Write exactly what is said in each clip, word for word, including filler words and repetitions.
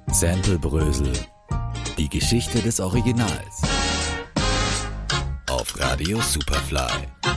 Sample-Brösel. Die Geschichte des Originals. Auf Radio Superfly.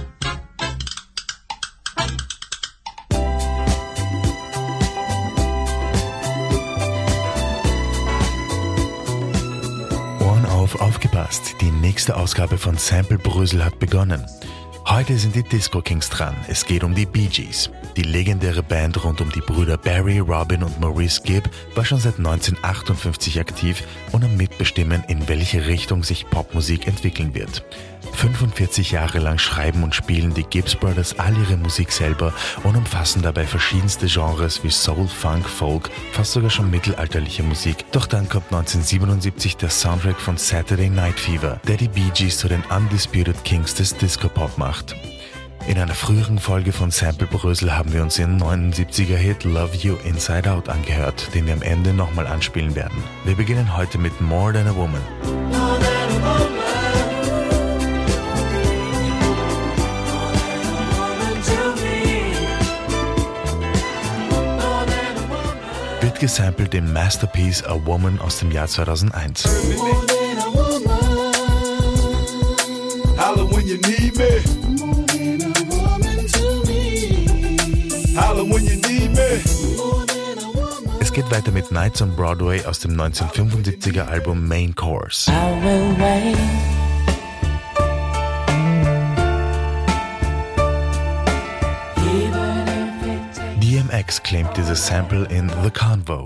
Ohren auf, aufgepasst. Die nächste Ausgabe von Sample-Brösel hat begonnen. Heute sind die Disco Kings dran. Es geht um die Bee Gees. Die legendäre Band rund um die Brüder Barry, Robin und Maurice Gibb war schon seit neunzehnhundertachtundfünfzig aktiv und am Mitbestimmen, in welche Richtung sich Popmusik entwickeln wird. fünfundvierzig Jahre lang schreiben und spielen die Gibbs Brothers all ihre Musik selber und umfassen dabei verschiedenste Genres wie Soul, Funk, Folk, fast sogar schon mittelalterliche Musik. Doch dann kommt neunzehnhundertsiebenundsiebzig der Soundtrack von Saturday Night Fever, der die Bee Gees zu den Undisputed Kings des Disco-Pop macht. In einer früheren Folge von Sample-Brösel haben wir uns ihren neunundsiebziger-Hit Love You Inside Out angehört, den wir am Ende nochmal anspielen werden. Wir beginnen heute mit More Than a Woman. More than a woman. Wird gesampelt im Masterpiece A Woman aus dem Jahr zweitausendeins. Es geht weiter mit Nights on Broadway aus dem neunzehnhundertfünfundsiebziger Album Main Course. D M X claimed dieses Sample in The Convo.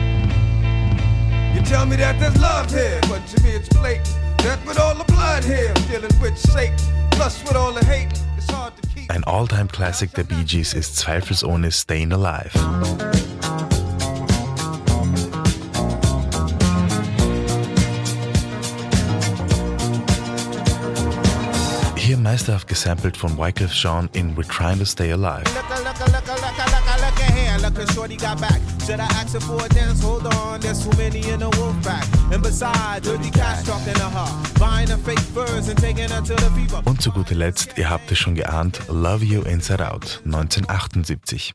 You tell me that there's love here, but to me it's blatant. That with all the blood here, dealing with Satan, plus with all the hate, it's hard to keep. Ein All-Time Classic der Bee Gees ist zweifelsohne Stayin' Alive. Hier meisterhaft gesampelt von Wyclef Jean in We're Trying to Stay Alive. Und zu guter Letzt, ihr habt es schon geahnt, Love You Inside Out, neunzehnhundertachtundsiebzig.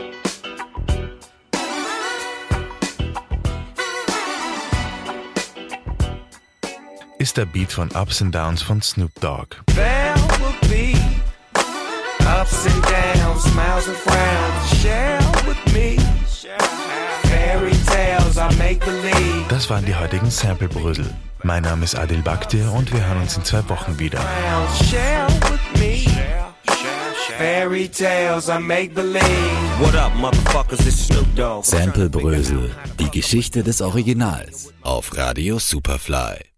Ist der Beat von Ups and Downs von Snoop Dogg. There will be ups and downs, smiles and frowns. Share with me. Fairy tales I make believe. Das waren die heutigen Sample-Brösel. Mein Name ist Adil Bakhtir und wir hören uns in zwei Wochen wieder. Share with me. Fairy tales I make believe. What up, motherfuckers? It's Snoop Dogg. Sample-Brösel. Die Geschichte des Originals. Auf Radio Superfly.